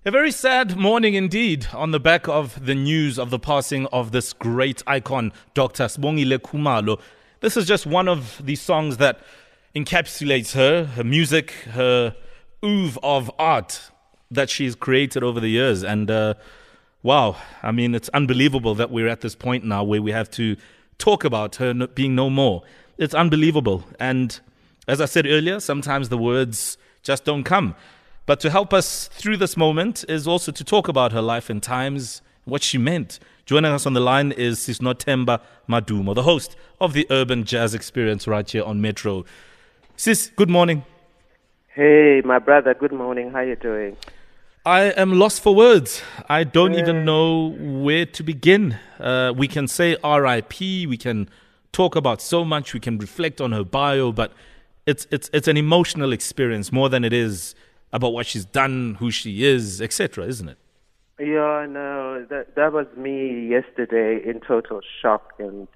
A very sad morning indeed on the back of the news of the passing of this great icon, Dr. Sibongile Khumalo. This is just one of the songs that encapsulates her music, her oeuvre of art that she's created over the years. And wow, I mean, it's unbelievable that we're at this point now where we have to talk about her being no more. It's unbelievable. And as I said earlier, sometimes the words just don't come. But to help us through this moment is also to talk about her life and times, what she meant. Joining us on the line is Sis Nothemba Madumo, the host of the Urban Jazz Experience right here on Metro. Sis, good morning. Hey, my brother, good morning. How you doing? I am lost for words. I don't even know where to begin. We can say R.I.P., we can talk about so much, we can reflect on her bio, but it's an emotional experience more than it is about what she's done, who she is, etc., isn't it? Yeah, no, that was me yesterday in total shock and,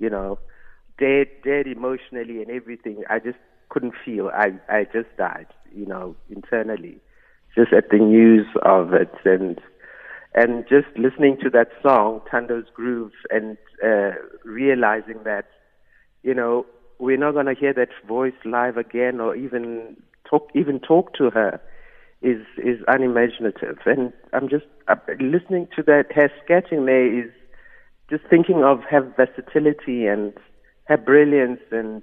dead emotionally and everything. I just couldn't feel. I just died, internally, just at the news of it and just listening to that song, Tando's Groove, and realizing that, we're not going to hear that voice live again or even talk to her is unimaginative. And I'm just listening to that. Her sketching there is just thinking of her versatility and her brilliance. And,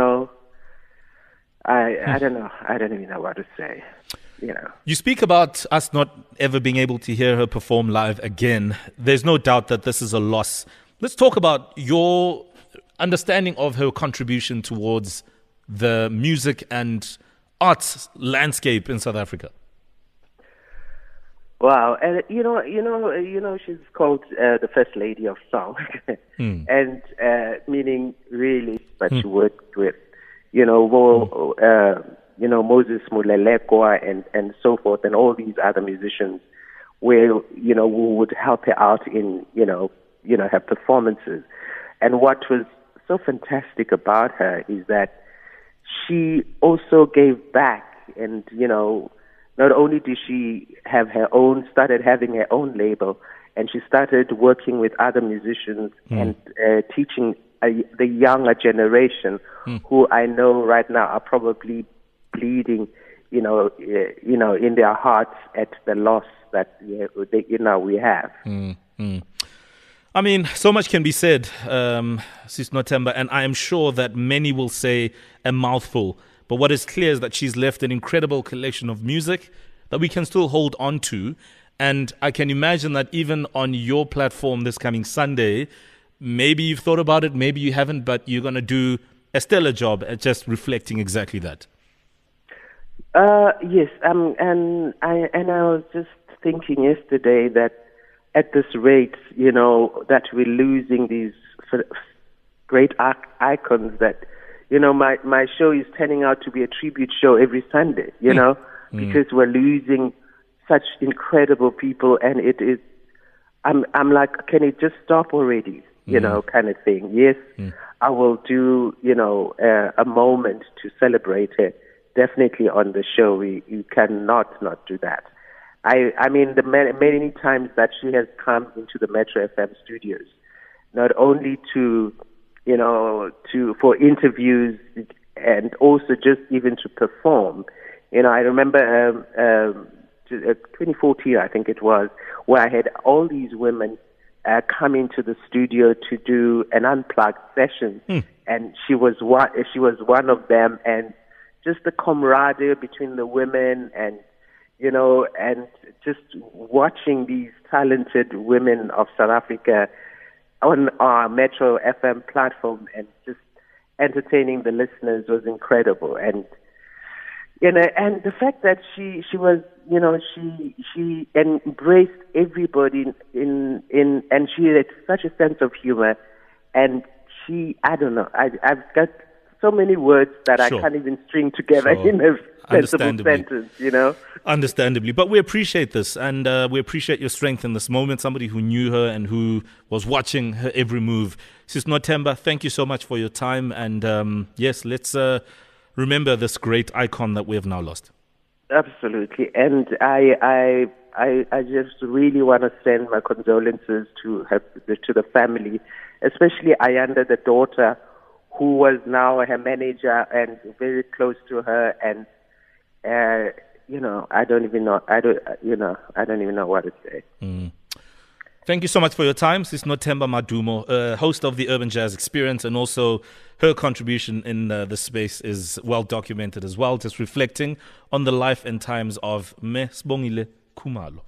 I don't know. I don't even know what to say. You speak about us not ever being able to hear her perform live again. There's no doubt that this is a loss. Let's talk about your understanding of her contribution towards the music and arts landscape in South Africa. Wow, and she's called the First Lady of Song, and meaning really, but she worked with, Moses Mulelekwa and so forth, and all these other musicians, where who would help her out in her performances. And what was so fantastic about her is that she also gave back, and not only did she started having her own label, and she started working with other musicians and teaching the younger generation, who I know right now are probably bleeding, in their hearts at the loss that we have. I mean, so much can be said, Sis Nothemba, and I am sure that many will say a mouthful. But what is clear is that she's left an incredible collection of music that we can still hold on to. And I can imagine that even on your platform this coming Sunday, maybe you've thought about it, maybe you haven't, but you're going to do a stellar job at just reflecting exactly that. Yes, and I was just thinking yesterday that at this rate, that we're losing these great icons that, my show is turning out to be a tribute show every Sunday, because we're losing such incredible people, and it is, I'm like, can it just stop already, kind of thing. Yes, I will do, a moment to celebrate her, definitely on the show. You cannot not do that. I mean, the many times that she has come into the Metro FM studios, not only to, for interviews and also just even to perform. I remember 2014, I think it was, where I had all these women come into the studio to do an unplugged session, and she was one of them, and just the camaraderie between the women and and just watching these talented women of South Africa on our Metro FM platform and just entertaining the listeners was incredible. And and the fact that she was, she embraced everybody and she had such a sense of humor, and I don't know, I've got so many words that I can't even string together in a sensible sentence, Understandably. But we appreciate this, and we appreciate your strength in this moment, somebody who knew her and who was watching her every move. Sis Nothemba, thank you so much for your time, and yes, let's remember this great icon that we have now lost. Absolutely. And I I just really want to send my condolences to the family, especially Ayanda, the daughter, who was now her manager and very close to her, and I don't even know. I don't even know what to say. Thank you so much for your time. Sis Nothemba Madumo, host of the Urban Jazz Experience, and also her contribution in the space is well documented as well, just reflecting on the life and times of Me Sibongile Khumalo.